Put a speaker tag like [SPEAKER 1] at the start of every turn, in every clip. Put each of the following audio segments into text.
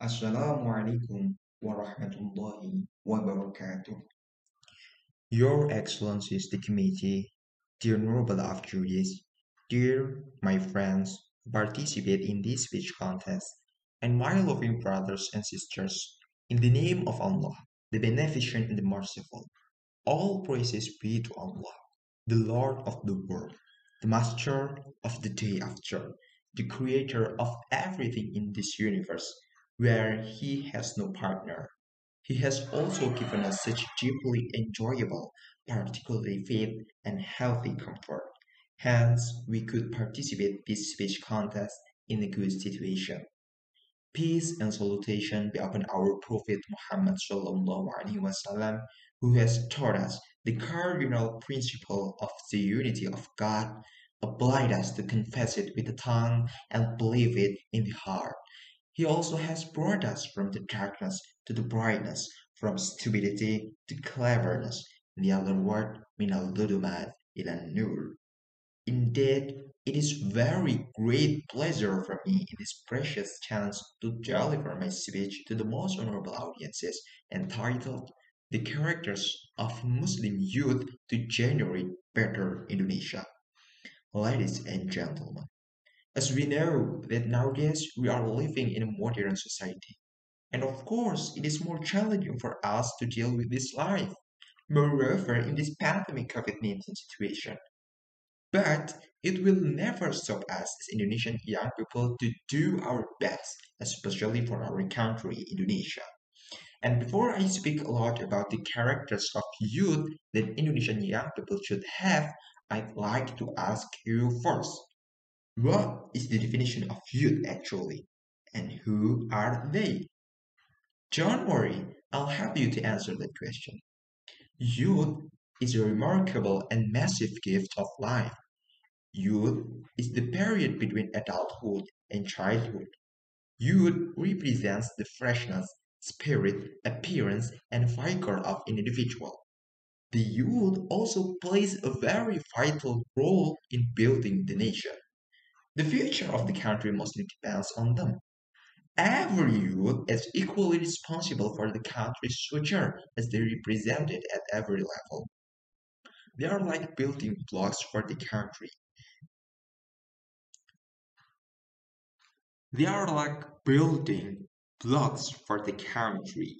[SPEAKER 1] Assalamualaikum warahmatullahi wabarakatuh. Your Excellencies the Committee, dear Noble of Juries, dear my friends who participate in this speech contest, and my loving brothers and sisters, in the name of Allah, the Beneficent and the Merciful, all praises be to Allah, the Lord of the world, the Master of the day after, the Creator of everything in this universe, where He has no partner. He has also given us such deeply enjoyable, particularly faith and healthy comfort. Hence, we could participate this speech contest in a good situation. Peace and salutation be upon our Prophet Muhammad sallallahu alaihi wasallam, who has taught us the cardinal principle of the unity of God, obliged us to confess it with the tongue and believe it in the heart. He also has brought us from the darkness to the brightness, from stupidity to cleverness. In the other word, min al-dhulumat ila nur. Indeed, it is very great pleasure for me in this precious chance to deliver my speech to the most honorable audiences entitled The Characters of Muslim Youth to Generate Better Indonesia. Ladies and gentlemen, as we know that nowadays we are living in a modern society, and of course it is more challenging for us to deal with this life. Moreover, in this pandemic COVID-19 situation, but it will never stop us as Indonesian young people to do our best, especially for our country, Indonesia. And before I speak a lot about the characters of youth that Indonesian young people should have, I'd like to ask you first, what is the definition of youth actually? And who are they? Don't worry, I'll help you to answer that question. Youth is a remarkable and massive gift of life. Youth is the period between adulthood and childhood. Youth represents the freshness, spirit, appearance, and vigor of an individual. The youth also plays a very vital role in building the nation. The future of the country mostly depends on them. Every youth is equally responsible for the country's future as they represent it at every level. They are like building blocks for the country. They are like building blocks for the country.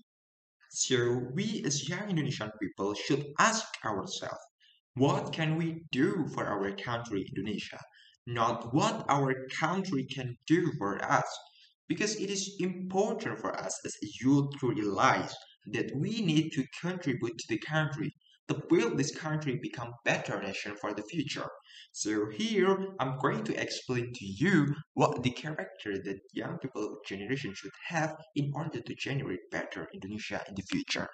[SPEAKER 1] So we as young Indonesian people should ask ourselves, what can we do for our country, Indonesia? Not what our country can do for us. Because it is important for us as a youth to realize that we need to contribute to the country to build this country become better nation for the future. So here I'm going to explain to you what the character that young people generation should have in order to generate better Indonesia in the future.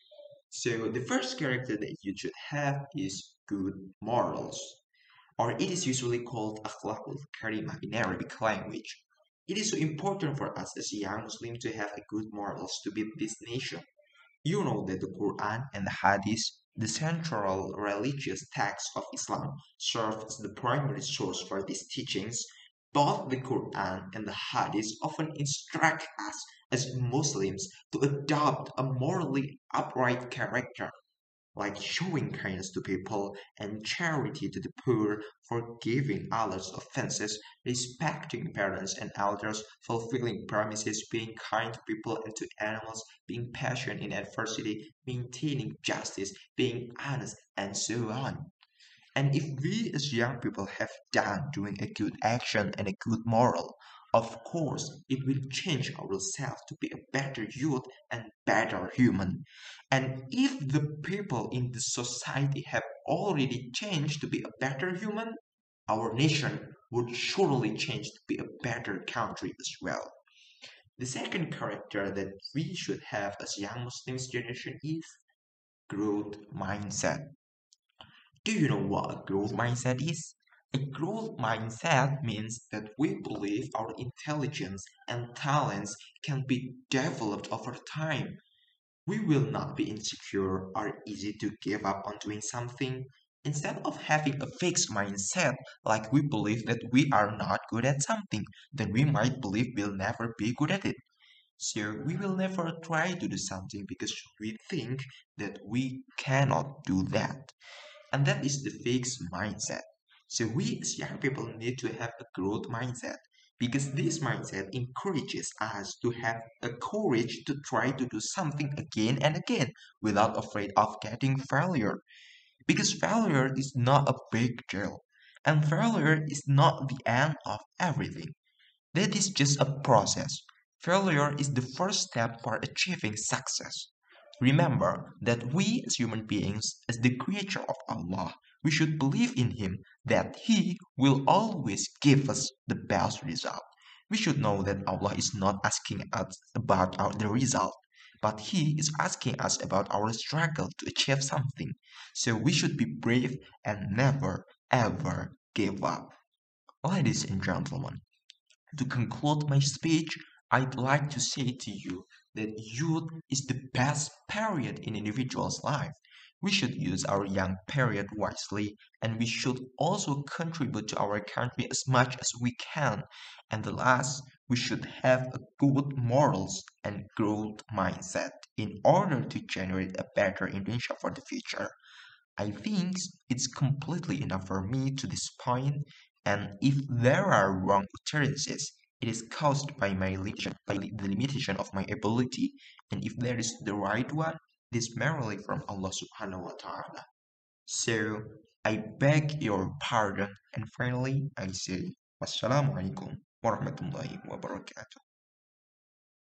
[SPEAKER 1] So the first character that you should have is good morals, or it is usually called akhlakul karimah in Arabic language. It is so important for us as a young Muslim to have a good morals to build this nation. You know that the Quran and the Hadith, the central religious text of Islam, serve as the primary source for these teachings. Both the Quran and the Hadith often instruct us as Muslims to adopt a morally upright character, like showing kindness to people and charity to the poor, forgiving others' offenses, respecting parents and elders, fulfilling promises, being kind to people and to animals, being patient in adversity, maintaining justice, being honest, and so on. And if we as young people have done doing a good action and a good moral, of course it will change ourselves to be a better youth and better human. And if the people in the society have already changed to be a better human, our nation would surely change to be a better country as well. The second character that we should have as young Muslims generation is growth mindset. Do you know what a growth mindset is? A growth mindset means that we believe our intelligence and talents can be developed over time. We will not be insecure or easy to give up on doing something. Instead of having a fixed mindset, like we believe that we are not good at something, then we might believe we'll never be good at it. So we will never try to do something because we think that we cannot do that. And that is the fixed mindset. So we as young people need to have a growth mindset because this mindset encourages us to have a courage to try to do something again and again without afraid of getting failure. Because failure is not a big deal. And failure is not the end of everything. That is just a process. Failure is the first step for achieving success. Remember that we as human beings, as the creature of Allah, we should believe in Him that He will always give us the best result. We should know that Allah is not asking us about the result, but He is asking us about our struggle to achieve something. So we should be brave and never ever give up. Ladies and gentlemen, to conclude my speech, I'd like to say to you that youth is the best period in individual's life. We should use our young period wisely and we should also contribute to our country as much as we can. And the last, we should have a good morals and growth mindset in order to generate a better Indonesia for the future. I think it's completely enough for me to this point, and if there are wrong utterances, it is caused by my limitation, by the limitation of my ability, and if there is the right one, it is merely from Allah subhanahu wa ta'ala. So I beg your pardon, and finally I say, Wassalamualaikum warahmatullahi wabarakatuh.